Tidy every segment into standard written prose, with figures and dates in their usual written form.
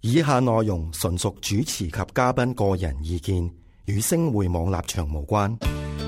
以下內容純屬主持及嘉賓個人意見，與星匯網立場無關。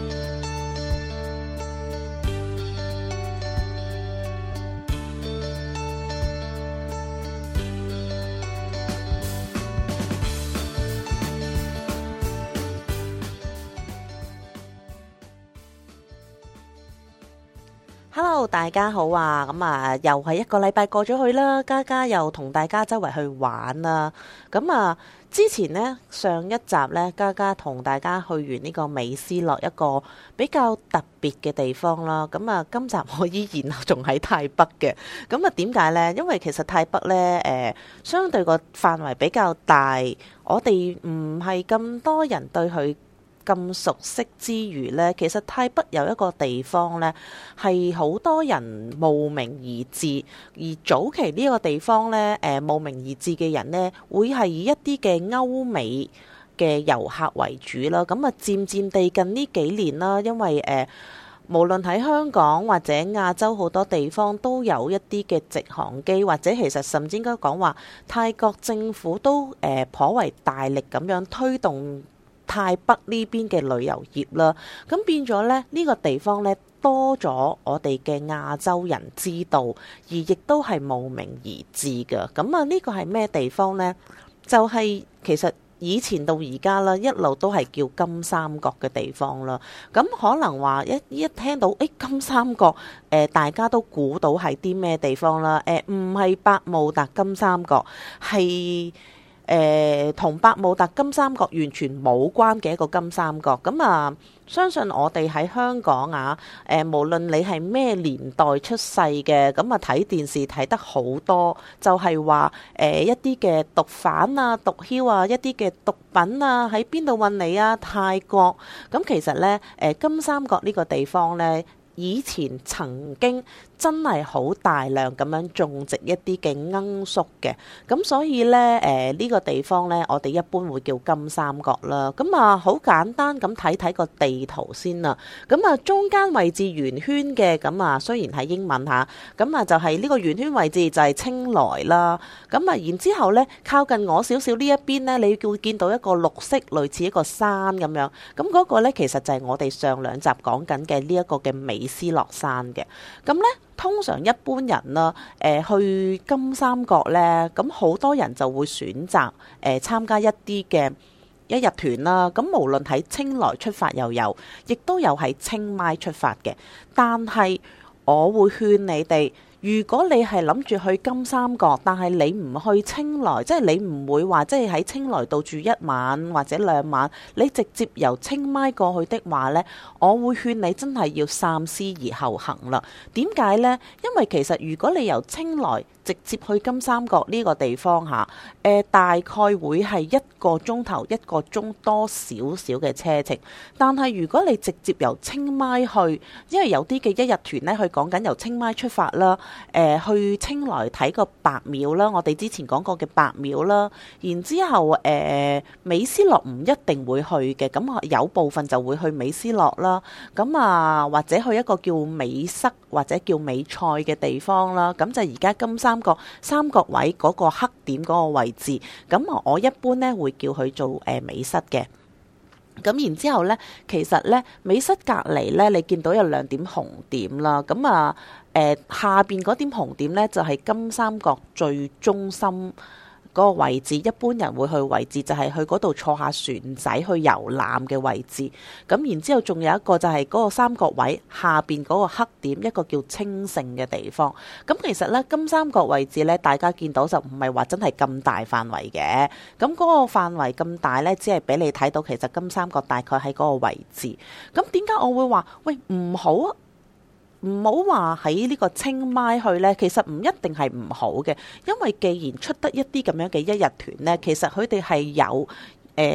Hello， 大家好啊！又係一個禮拜過咗去啦，嘉嘉又同大家周圍去玩啦。之前呢，上一集呢，嘉嘉同大家去完呢個美斯樂一個比較特別嘅地方啦。今集我依然仲喺泰北嘅。點解呢？因為其實泰北呢，相對個範圍比較大，我哋唔係咁多人對佢咁熟悉之餘呢，其實泰北有一個地方呢，係好多人慕名而至，而早期呢個地方呢，慕名而至嘅人呢，會係以一啲嘅歐美嘅遊客為主啦。漸漸地近呢幾年啦，因為無論喺香港或者亞洲好多地方都有一啲嘅直航機，或者其實甚至應該講話泰國政府都頗為大力咁樣推動泰北呢邊嘅旅遊業啦，咁變咗咧呢個地方咧多咗我哋嘅亞洲人知道，而亦都係慕名而至嘅。呢個係咩地方呢？就係其實以前到而家啦，一路都係叫金三角嘅地方啦。咁可能話一聽到金三角，大家都估到係啲咩地方啦？唔係百慕達金三角，係同百慕達金三角完全冇關嘅一個金三角。相信我哋喺香港無論你係咩年代出世嘅，睇電視睇得好多，就係話一啲嘅毒販啊、毒梟啊、一啲嘅毒品啊喺邊度運嚟啊？泰國。其實呢，金三角呢個地方呢，以前曾經真係好大量咁樣種植一啲嘅罌粟嘅，咁所以呢，呢個地方呢，我哋一般會叫金三角啦。好簡單咁睇個地圖先啦。中間位置圓圈嘅，雖然係英文嚇，就係呢個圓圈位置就係清萊啦。然之後呢，靠近我少少呢一邊呢，你會見到一個綠色類似一個山咁樣。嗰個呢，其實就係我哋上兩集講緊嘅呢一個嘅美斯樂山嘅。通常一般人啦，去金三角呢，咁好多人就會選擇參加一啲嘅一日團啦。無論喺清萊出發又有，亦都有喺清邁出發嘅。但係我會勸你哋，如果你係諗住去金三角，但係你唔去清萊，即係你唔會話即係喺清萊度住一晚或者兩晚，你直接由清邁過去的話呢，我會勸你真係要三思而後行啦。點解呢？因為其實如果你由清萊直接去金三角呢個地方大概會係1個鐘頭1個鐘多少少嘅車程。但係如果你直接由清邁去，因為有啲嘅一日團呢，佢講緊由清邁出發啦，去清萊睇個白廟啦，我哋之前講過嘅白廟啦。然之後美斯樂唔一定會去嘅，有部分就會去美斯樂啦。或者去一個叫美塞或者叫美塞嘅地方啦。就而家金三角三角位嗰個黑點嗰個位置，我一般呢會叫佢做美塞嘅。然之後呢，其實呢，美塞隔離呢，你見到有2點紅點啦。下邊嗰點紅點呢，就係金三角最中心嗰個位置，一般人會去位置就係去嗰度坐下船仔去遊覽嘅位置。然之後仲有一個就係嗰個三角位下邊嗰個黑點，一個叫清盛嘅地方。其實呢，金三角位置呢，大家見到就唔係話真係咁大範圍嘅。嗰個範圍咁大呢，只係俾你睇到其實金三角大概喺嗰個位置。點解我會話喂唔好話喺呢個清邁去呢？其實唔一定係唔好嘅，因為既然出得一啲咁樣嘅一日團呢，其實佢哋係有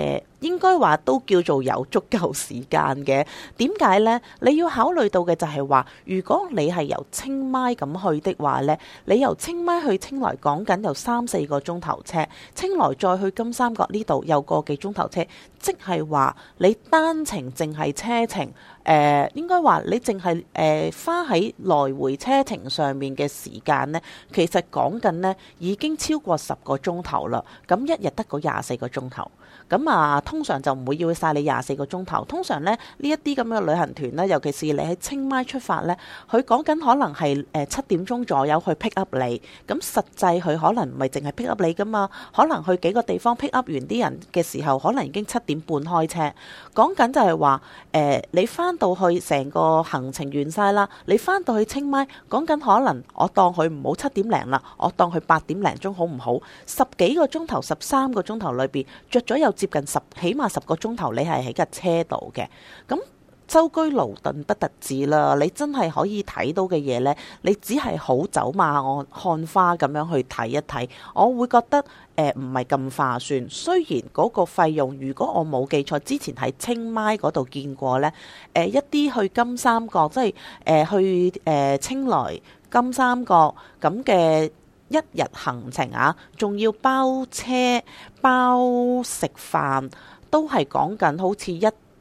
應該話都叫做有足夠時間嘅。點解呢？你要考慮到嘅就係話，如果你係由清邁咁去的話呢，你由清邁去清萊講緊有3-4個鐘頭車，清萊再去金三角呢度有個幾鐘頭車，即係話你單程淨係車程，應該話你淨係花喺來回車程上面嘅時間呢，其實講緊呢已經超過10個鐘頭啦。咁一日得嗰24個鐘頭。咁啊，通常就唔會要晒你24個鐘頭。通常咧，呢一啲咁嘅旅行團咧，尤其是你喺清邁出發咧，佢講緊可能係7點鐘左右去 pick up 你。咁實際佢可能唔係淨係 pick up 你噶嘛，可能去幾個地方 pick up 完啲人嘅時候，可能已經7點半開車。講緊就係話你翻到去成個行程完晒啦，你翻到去清邁，講緊可能我當佢唔好7點零啦，我當佢8點零鐘好唔好？10幾個鐘頭、13個鐘頭裏邊着咗有接近起碼10個鐘頭，你係喺架車度嘅。咁舟車勞頓不特止啦，你真係可以睇到嘅嘢呢，你只係好走馬看花咁樣去睇一睇，我會覺得唔係咁划算。雖然嗰個費用，如果我冇記錯，之前喺清邁嗰度見過呢，一啲去金三角，即係去清萊金三角咁嘅1日行程啊，仲要包車包食飯，都係講緊好似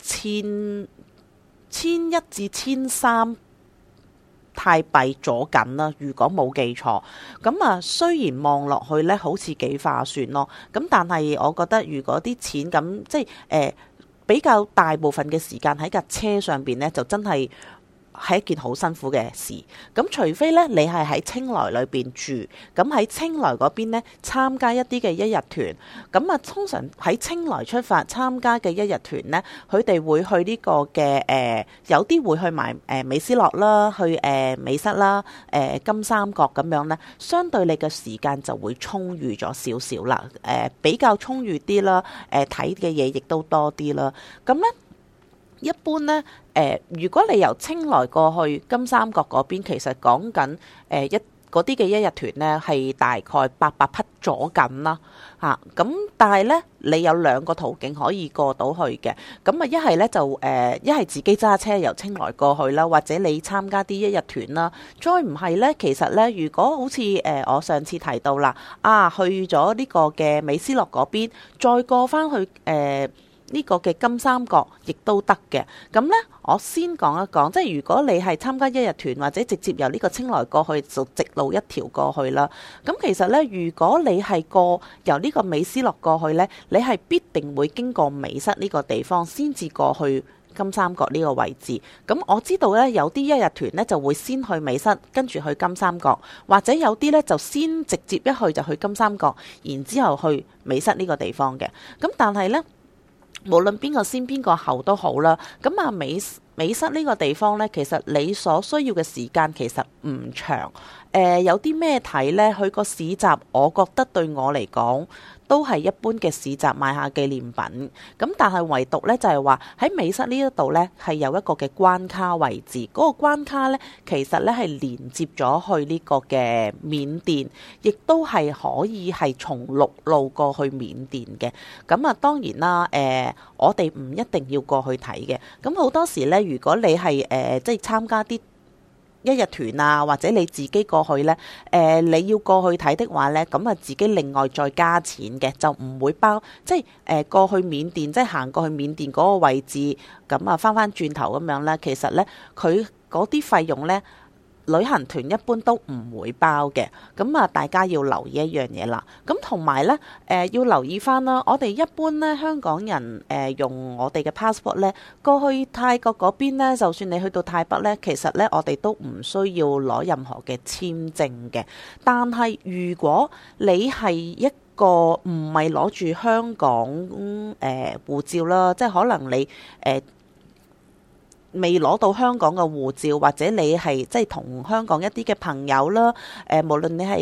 1100至1300泰幣左緊啦，如果冇記錯。咁啊，雖然望落去呢好似幾划算咯，咁但係我覺得如果啲錢咁即係比較大部分嘅時間喺架車上邊呢，就真係係一件好辛苦嘅事。咁除非咧，你係喺清萊裏邊住，咁喺清萊嗰邊咧參加一啲嘅1日團。咁啊，通常喺清萊出發參加嘅1日團咧，佢哋會去呢個嘅有啲會去埋美斯樂啦，去美室啦，金三角咁樣咧，相對你嘅時間就會充裕咗少少啦，比較充裕啲啦，睇嘅嘢亦都多啲啦。咁咧，一般呢，如果你由清萊過去金三角嗰邊，其實講緊嗰啲嘅1日團呢，係大概800匹左緊啦嚇。咁但係呢，你有2個途徑可以過到去嘅。咁啊，一係呢，就一係自己揸車由清萊過去啦，或者你參加啲1日團啦。再唔係呢，其實呢，如果好似我上次提到啦，去咗呢個嘅美斯樂嗰邊，再過翻去呢個嘅金三角亦都得嘅。咁呢，我先講一講，即係如果你係參加1日團或者直接由呢個清萊過去，就直路一條過去啦。咁其實呢，如果你係由呢個美斯樂過去呢，你係必定會經過美室呢個地方先至過去金三角呢個位置。咁我知道呢，有啲1日團呢就會先去美室，跟住去金三角，或者有啲呢就先直接一去就去金三角，然之後去美室呢個地方嘅。咁但係呢，無論邊個先邊個後都好啦，咁啊美室呢個地方呢，其實你所需要嘅時間其實唔長。有啲咩睇呢？佢個市集，我覺得對我嚟講都係一般嘅市集，買下紀念品。咁但係唯獨呢，就係話喺美室呢一度呢，係有一個嘅關卡位置。嗰個關卡呢，其實呢係連接咗去呢個嘅緬甸，亦都係可以係從陸路過去緬甸嘅。咁啊，當然啦，我哋唔一定要過去睇嘅。咁好多時呢，如果你係即係參加啲1日團啊，或者你自己過去呢，你要過去睇的話呢，咁啊自己另外再加錢嘅，就唔會包，即係過去緬甸，即係行過去緬甸嗰個位置，咁啊翻轉頭咁樣呢，其實呢，佢嗰啲費用呢，旅行團一般都唔會包嘅。咁啊，大家要留意一樣嘢啦。咁同埋呢，要留意翻啦。我哋一般呢，香港人用我哋嘅 passport 呢，過去泰國嗰邊呢，就算你去到泰北呢，其實呢，我哋都唔需要攞任何嘅簽證嘅。但係如果你係一個唔係攞住香港護照啦，即係可能你未攞到香港嘅護照，或者你係即係同香港一啲嘅朋友啦，無論你係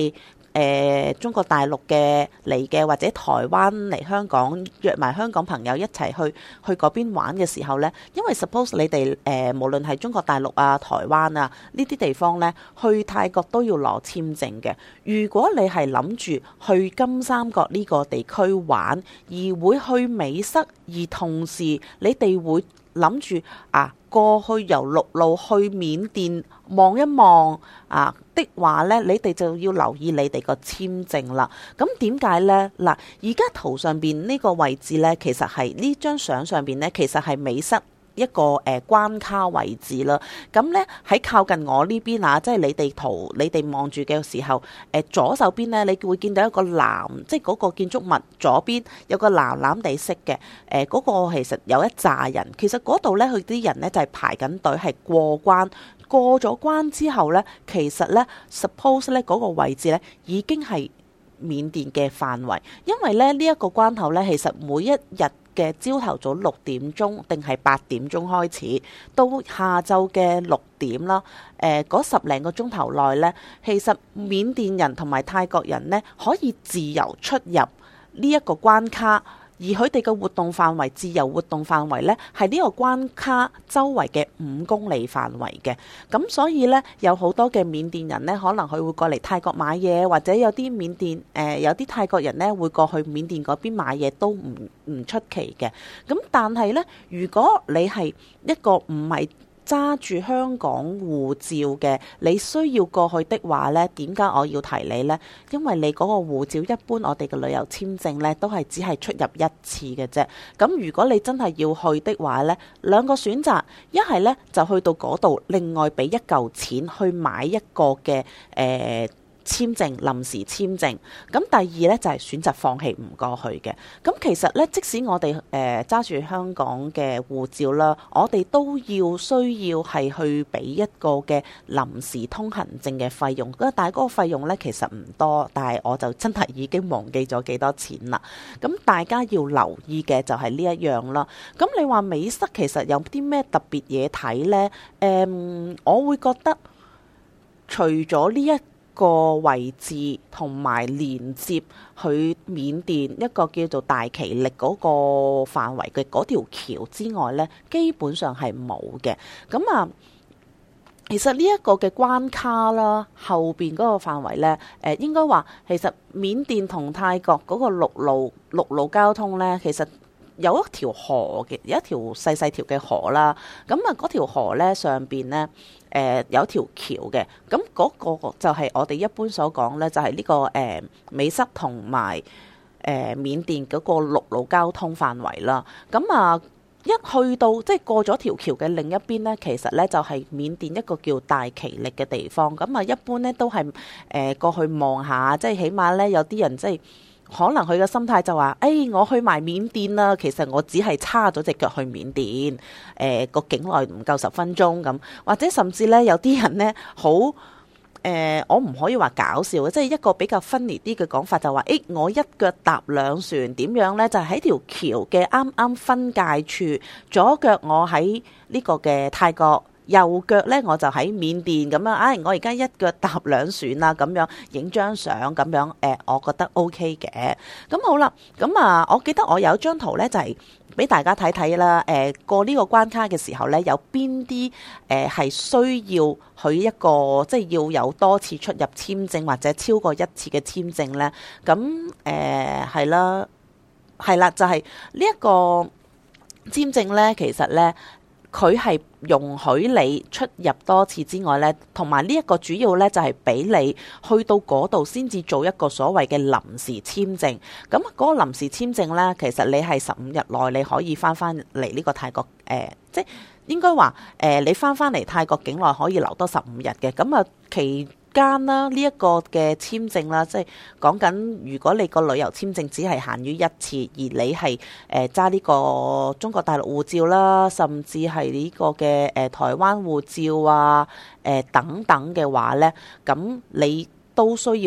中國大陸嘅嚟嘅，或者台灣嚟香港約埋香港朋友一齊去嗰邊玩嘅時候呢，因為 suppose 你哋無論係中國大陸啊、台灣啊呢啲地方呢，去泰國都要攞簽證嘅。如果你係諗住去金三角呢個地區玩，而會去美塞，而同時你哋會諗住過去由陸路去緬甸望一望的話呢，你哋就要留意你哋個簽證啦。咁點解呢？嗱，而家圖上邊呢個位置呢，其實係呢張相上邊呢，其實係美塞一個關卡位置啦。咁呢，喺靠近我呢邊即係你哋圖你哋望住嘅時候，左手邊呢，你會見到一個藍，即係嗰個建築物左邊有個藍藍地色嘅，嗰個其實有一紮人，其實嗰度呢，佢啲人呢就係排緊隊係過關。過咗關之後呢，其實呢 suppose 呢嗰個位置呢已經係緬甸嘅範圍，因為呢一個關口呢，其實每一日嘅朝頭早6點鐘定係8點鐘開始，到下晝嘅6點啦，嗰10零個鐘頭內呢，其實緬甸人同埋泰國人呢可以自由出入呢一個關卡。而佢哋嘅活動範圍，自由活動範圍呢，係呢個關卡周圍嘅5公里範圍嘅。咁所以呢，有好多嘅緬甸人呢，可能佢會過嚟泰國買嘢，或者有啲緬甸有啲泰國人呢會過去緬甸嗰邊買嘢，都唔出奇嘅。咁但係呢，如果你係一個唔係揸住香港護照嘅，你需要過去的話呢，點解我要提你呢？因為你嗰個護照一般我哋嘅旅遊簽證呢都係只係出入一次嘅啫。咁如果你真係要去的話呢，兩個選擇，一係呢就去到嗰度另外俾一嚿錢去買一個嘅簽證，臨時簽證。咁第二呢，就係選擇放棄唔過去嘅。咁其實呢，即使我哋揸住香港嘅護照啦，我哋都需要係去俾一個嘅臨時通行證嘅費用。但係嗰個費用呢，其實唔多，但係我就真係已經忘記咗幾多錢啦。咁大家要留意嘅就係呢一樣啦。咁你話美塞其實有啲咩特別嘢睇呢？我會覺得除咗呢一個位置同埋連接去緬甸一個叫做大其力嗰個範圍嘅嗰條橋之外呢，基本上係冇嘅。咁其實呢一個嘅關卡啦，後邊嗰個範圍呢，應該話其實緬甸同泰國嗰個陸路交通呢，其實有一條河嘅，有一條細細條嘅河啦。咁嗰條河呢，上邊呢，有條橋嘅。咁嗰個就係我哋一般所講呢，就係呢個美塞同埋緬甸嗰個陸路交通範圍啦。咁一去到即係過咗條橋嘅另一邊呢，其實呢就係緬甸一個叫大其力嘅地方。咁一般呢都係過去望下，即係起碼呢有啲人即係。可能佢嘅心態就話，我去埋緬甸啦，其實我只係叉咗隻腳去緬甸，個境內唔夠10分鐘咁，或者甚至呢，有啲人呢，好我唔可以話搞笑嘅，即係一個比較分裂啲嘅講法就話，我一腳踏兩船點樣呢？就喺條橋嘅啱啱分界處，左腳我喺呢個嘅泰國。右腳呢，我就喺緬甸咁樣，我而家一腳踏兩船啦，咁樣影張相咁樣，我覺得 OK 嘅。咁好啦，咁我記得我有張圖呢，就係俾大家睇睇啦。過呢個關卡嘅時候呢，有邊啲係需要佢一個即係要有多次出入簽證或者超過1次嘅簽證呢？咁係啦，就係呢一個簽證呢，其實呢。佢係容許你出入多次之外呢，同埋呢一個主要呢，就係俾你去到嗰度先至做一個所謂嘅臨時簽證。咁嗰個臨時簽證呢，其實你係15日內你可以翻嚟呢個泰國，即係應該話你翻嚟泰國境內可以留多15日嘅。咁期間啦，呢一個嘅簽證啦，即係講緊如果你個旅遊簽證只係限於1次，而你係揸呢個中國大陸護照啦，甚至係呢個嘅台灣護照等等嘅話呢，咁你都需要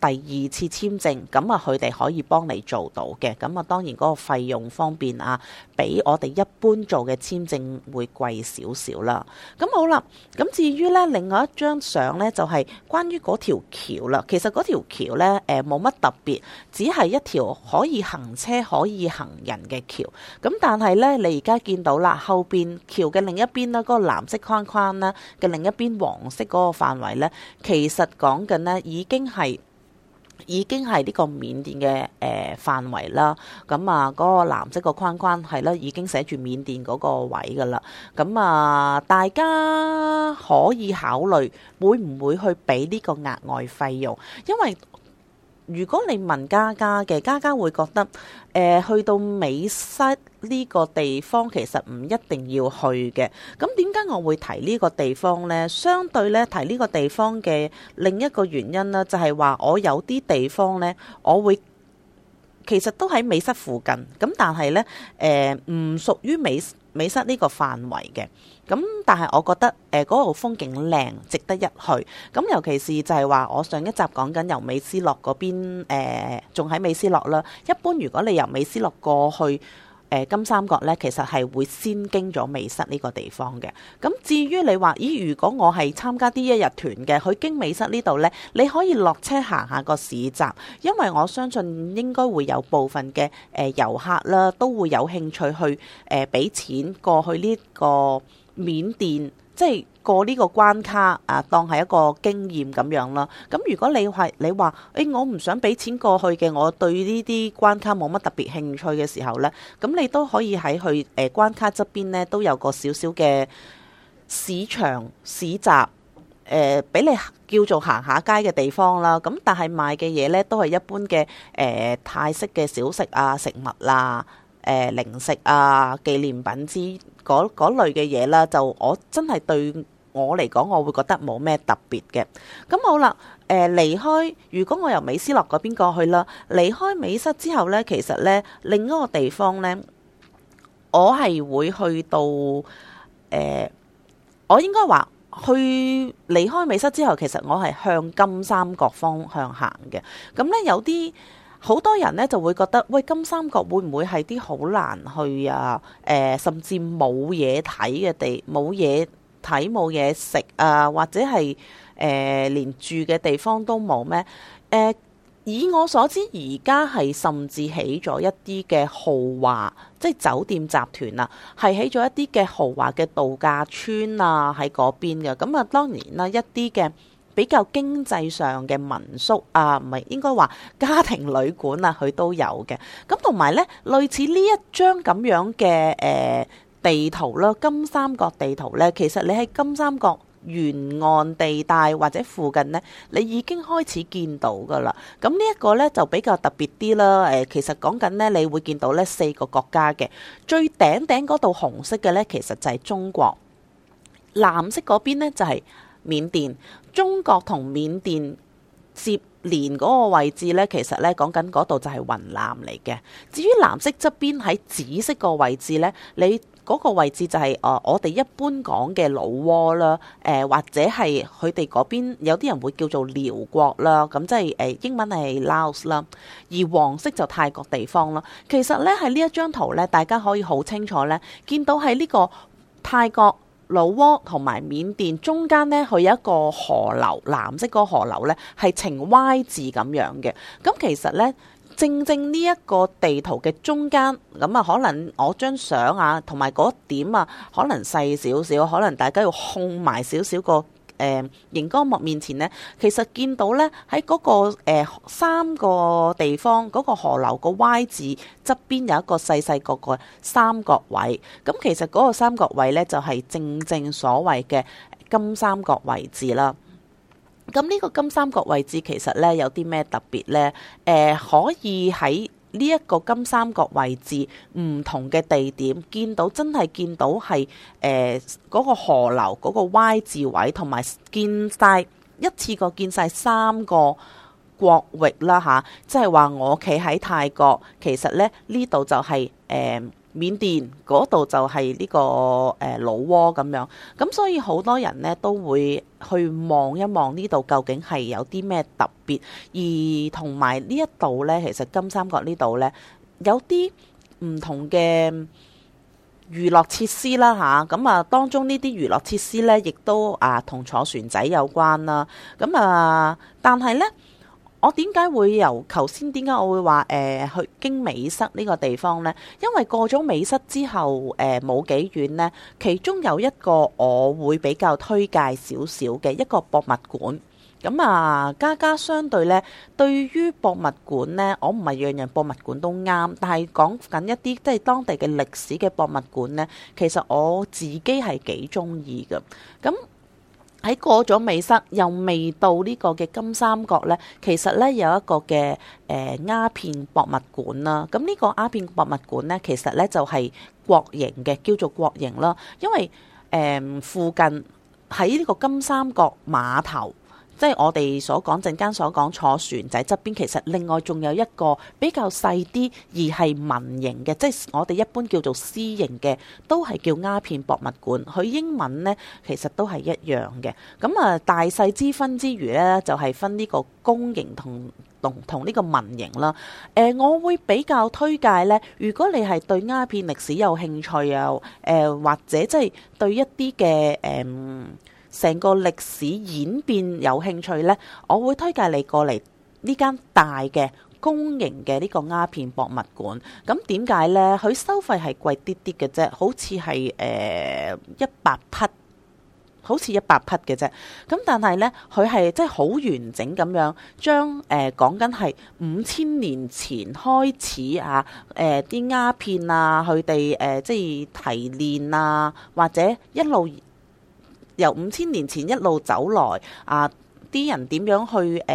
第二次簽證，咁啊佢哋可以幫你做到嘅。咁啊當然嗰個費用方面啊，比我哋一般做嘅簽證會貴少少啦。咁好啦，咁至於呢另外一張相呢，就係關於嗰條橋啦。其實嗰條橋呢冇乜特別，只係一條可以行車可以行人嘅橋。咁但係呢，你而家見到啦，後邊橋嘅另一邊啦，嗰個藍色框框啦嘅另一邊黃色嗰個範圍呢，其實講緊呢已經係呢個緬甸嘅範圍啦。咁啊嗰個藍色個框框係啦，已經寫住緬甸嗰個位噶啦。咁啊大家可以考慮會唔會去俾呢個額外費用，因為如果你問嘉嘉嘅，嘉嘉會覺得去到美塞呢個地方其實唔一定要去嘅。咁點解我會提呢個地方呢？相對咧提呢個地方嘅另一個原因呢，就係話我有啲地方呢，我會其實都喺美塞附近，咁但係呢唔屬於美塞呢個範圍嘅。咁但係我覺得嗰度風景靚，值得一去。咁尤其是就係話我上一集講緊由美斯樂嗰邊仲喺美斯樂啦。一般如果你由美斯樂過去金三角呢，其實係會先經咗美塞呢個地方嘅。咁至於你話咦，如果我係參加啲一日團嘅，去經美塞呢度呢，你可以落車行下個市集，因為我相信應該會有部分嘅遊客啦，都會有興趣去俾錢過去呢個緬甸，即係過呢個關卡啊，當係一個經驗咁樣啦。咁如果你話我唔想俾錢過去嘅，我對呢啲關卡冇乜特別興趣嘅時候呢，咁你都可以喺去關卡側邊呢，都有個少少嘅市場市集，俾你叫做行下街嘅地方啦。咁但係賣嘅嘢呢，都係一般嘅泰式嘅小食啊、食物啦、零食啊、紀念品之嗰類嘅嘢啦。就我真係對我嚟講，我會覺得冇咩特別嘅。咁好啦，離開，如果我由美斯樂嗰邊過去啦，離開美塞之後呢，其實呢另一個地方呢，我係會去到我應該話去離開美塞之後，其實我係向金三角方向行嘅。咁呢有啲好多人呢就會覺得，喂，金三角會唔會係啲好難去啊？甚至冇嘢睇嘅地，冇嘢睇冇嘢食啊，或者係連住嘅地方都冇咩？以我所知，而家係甚至起咗一啲嘅豪華，即係酒店集團啊，係起咗一啲嘅豪華嘅度假村啊喺嗰邊嘅。咁啊，當然啦，一啲嘅比較經濟上嘅民宿啊，唔係應該話家庭旅館啊，佢都有嘅。咁同埋呢，類似呢一張咁樣嘅地圖啦，金三角地圖呢，其實你喺金三角沿岸地帶或者附近呢，你已經開始見到噶啦。咁呢一個呢，就比較特別啲啦。其實講緊呢，你會見到呢4個國家嘅，最頂嗰度紅色嘅呢，其實就係中國，藍色嗰邊呢，就係緬甸。中國同緬甸接連嗰個位置呢，其實呢講緊嗰度就係雲南嚟嘅。至於藍色側邊喺紫色個位置呢，你嗰個位置就係我哋一般講嘅老撾啦，或者係佢哋嗰邊有啲人會叫做寮國啦，咁即係英文係 Laos 啦，而黃色就泰國地方啦。其實呢，喺呢一張圖呢，大家可以好清楚呢見到喺呢個泰國老撾同埋緬甸中間呢，佢有一個河流，藍色嗰個河流呢係呈 Y 字咁樣嘅。咁其實呢，正呢一個地圖嘅中間，咁啊可能我張相啊同埋嗰點啊可能細少少，可能大家要控埋少少個熒光幕面前呢，其實見到呢，喺嗰個3個地方嗰個河流個 Y 字側邊有一個細個三角位。咁其實嗰個三角位呢，就係正所謂嘅金三角位置啦。咁呢個金三角位置其實呢，有啲咩特別呢？可以喺呢一個金三角位置唔同嘅地點真係見到係嗰個河流嗰個 Y 字位，同埋見晒一次過見晒3個國域啦吓，即係話我企喺泰國，其實呢度就係緬甸嗰度就係呢個老撾咁樣，咁所以好多人呢都會去望一望呢度究竟係有啲咩特別，而同埋呢一度呢，其實金三角呢度呢，有啲唔同嘅娛樂設施啦吓，咁當中呢啲娛樂設施呢，亦都同坐船仔有關啦，咁但係呢。我點解會由頭先點解我會話去經美室呢個地方呢？因為過咗美室之後冇幾遠呢，其中有一個我會比較推介少少嘅一個博物館。咁家家相對呢，對於博物館呢，我唔係樣樣博物館都啱，但係講緊一啲即係當地嘅歷史嘅博物館呢，其實我自己係幾中意嘅。咁喺過咗美室又未到呢個嘅金三角呢，其實呢有一個嘅鴉片博物館啦。咁呢個鴉片博物館呢，其實呢就係國營嘅，叫做國營啦。因為附近喺呢個金三角碼頭，即係我哋所講陣間所講坐船仔側邊，其實另外仲有一個比較細啲而係民營嘅，即係我哋一般叫做私營嘅，都係叫鴉片博物館。佢英文呢其實都係一樣嘅。咁大細之分之餘呢，就係分呢個公營同呢個民營啦。我會比較推介呢，如果你係對鴉片歷史有興趣啊，或者即係對一啲嘅成個歷史演變有興趣呢，我會推介你過嚟呢間大嘅公營嘅呢個鴉片博物館。咁點解呢？佢收費係貴啲啲嘅啫，好似係100匹，好似100匹嘅啫。咁但係呢，佢係即係好完整咁樣將講緊係5000年前開始啲鴉片佢哋即係提煉或者一路由5000年前一路走來啲人點樣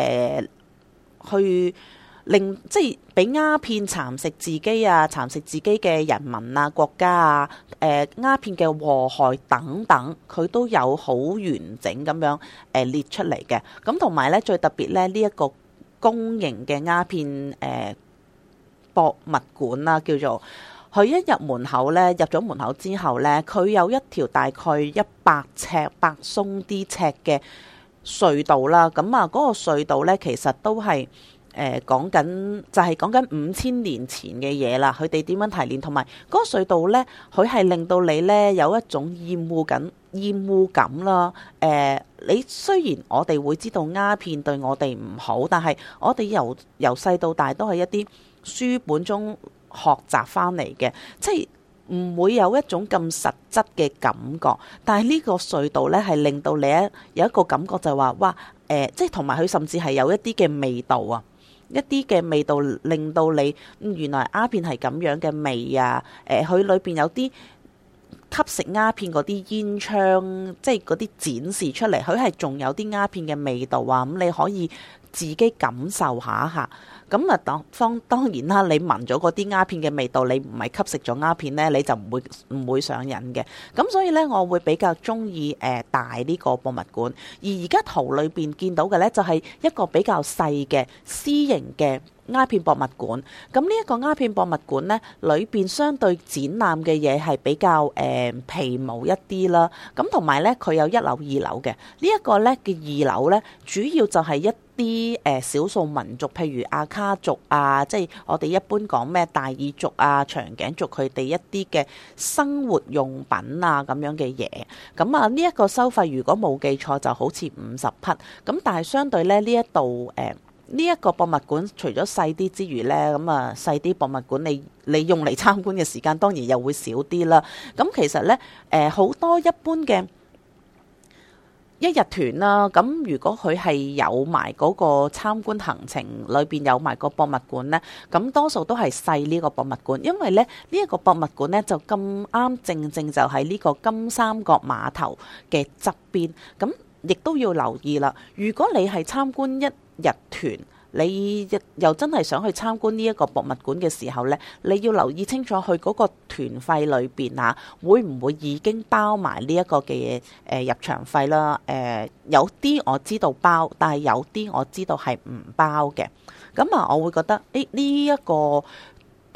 去令即係俾鴉片蠶食自己蠶食自己嘅人民國家鴉片嘅禍害等等，佢都有好完整咁樣列出嚟嘅。咁同埋咧，最特別咧，呢一個公營嘅鴉片博物館啦，叫做。佢一入門口咧，入咗門口之後咧，佢有一條大概100百鬆啲尺嘅隧道啦。咁嗰個隧道咧，其實都係講緊就係講緊5000年前嘅嘢啦。佢哋點樣提煉，同埋嗰個隧道咧，佢係令到你咧有一種厭惡感啦。你雖然我哋會知道鴉片對我哋唔好，但係我哋由細到大都係一啲書本中學習翻嚟嘅，即係唔會有一種咁實質嘅感覺。但係呢個隧道呢，係令到你有一個感覺就係話，哇，即係同埋佢甚至係有一啲嘅味道一啲嘅味道令到你原來鴉片係咁樣嘅味佢裏邊有啲吸食鴉片嗰啲煙槍，即係嗰啲展示出嚟，佢係仲有啲鴉片嘅味道咁你可以自己感受下。咁當然啦，你聞咗嗰啲鴉片嘅味道，你唔係吸食咗鴉片呢，你就唔會上癮嘅。咁所以呢，我會比較中意大呢個博物館。而家圖裏邊見到嘅呢，就係一個比較細嘅私營嘅鴉片博物館。咁呢一個鴉片博物館呢，裏邊相對展覽嘅嘢係比較皮毛一啲啦。咁同埋呢，佢有1樓、2樓嘅。呢一個呢嘅2樓呢，主要就係一啲少數民族，譬如阿卡族即係我哋一般講咩大耳族長頸族，佢哋一啲嘅生活用品咁樣嘅嘢。咁呢一個收費如果冇記錯就好似50匹。咁但係相對咧，呢一度呢一個博物館除咗細啲之餘呢，咁細啲博物館你用嚟參觀嘅時間當然又會少啲啦。咁其實呢，好多一般嘅一日團啦，咁如果佢係有埋嗰個參觀行程裏邊有埋個博物館呢，咁多數都係細呢個博物館，因為咧呢一個博物館呢，就咁啱正就喺呢個金三角碼頭嘅側邊，咁亦都要留意啦。如果你係參觀一日團，你又真係想去參觀呢一個博物館嘅時候呢，你要留意清楚佢嗰個團費裏邊會唔會已經包埋呢一個嘅入場費啦？有啲我知道包，但係有啲我知道係唔包嘅。咁我會覺得呢一個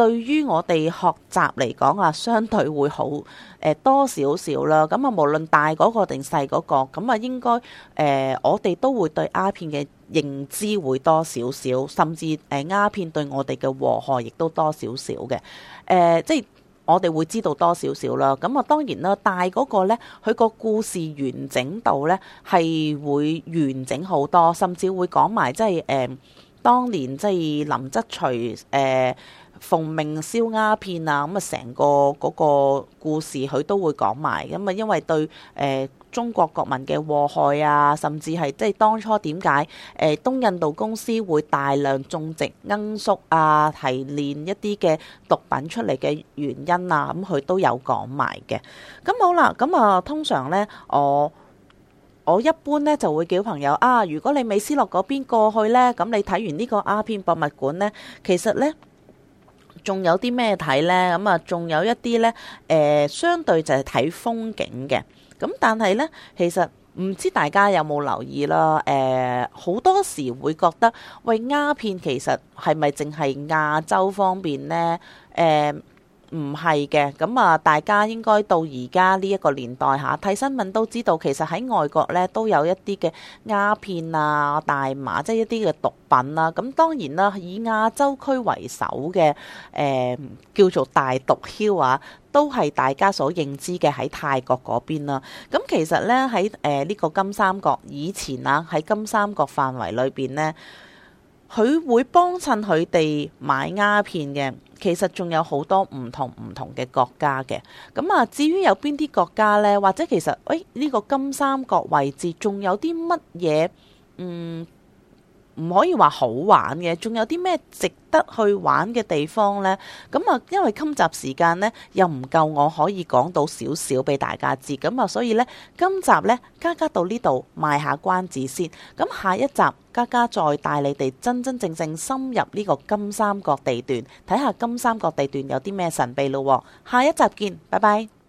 對於我哋學習嚟講啊，相對會好多少少啦。咁啊，無論大嗰個定細嗰個，咁啊應該我哋都會對鴉片嘅認知會多少少，甚至鴉片對我哋嘅禍害亦都多少少嘅。即係我哋會知道多少少啦。咁啊，當然啦，大嗰個呢，佢個故事完整度呢係會完整好多，甚至會講埋即係當年即係林則徐奉命燒鴉片啊，咁啊成個嗰個故事佢都會講埋。咁啊，因為對中國國民嘅禍害啊，甚至係即係當初點解東印度公司會大量種植罌粟啊，提煉一啲嘅毒品出嚟嘅原因啊，咁佢都有講埋嘅。咁好啦，咁啊通常呢，我一般呢就會叫朋友啊，如果你美斯樂嗰邊過去呢，咁你睇完呢個鴉片博物館呢，其實呢仲有啲咩睇呢？咁啊，仲有一啲呢，相對就係睇風景嘅。咁但係呢，其實唔知大家有冇留意啦？好多時會覺得，喂，鴉片其實係咪淨係亞洲方面呢？唔係嘅，咁啊，大家應該到而家呢一個年代嚇，睇新聞都知道，其實喺外國呢都有一啲嘅鴉片啊、大麻，即係一啲嘅毒品啦。咁當然啦，以亞洲區為首嘅叫做大毒梟啊，都係大家所認知嘅喺泰國嗰邊啦。咁其實呢，喺呢個金三角以前啊，喺金三角範圍裏邊呢，佢會幫襯佢哋買鴉片嘅，其實仲有好多唔同嘅國家嘅。咁啊，至於有邊啲國家呢？或者其實，呢個金三角位置仲有啲乜嘢？唔可以話好玩嘅，仲有啲咩值得去玩嘅地方呢？咁啊，因為今集時間呢又唔夠，我可以講到少少俾大家知，咁啊，所以呢，今集呢，嘉嘉到呢度賣下關子先。咁下一集嘉嘉再帶你哋真真正正深入呢個金三角地段，睇下金三角地段有啲咩神秘咯。下一集見，拜拜。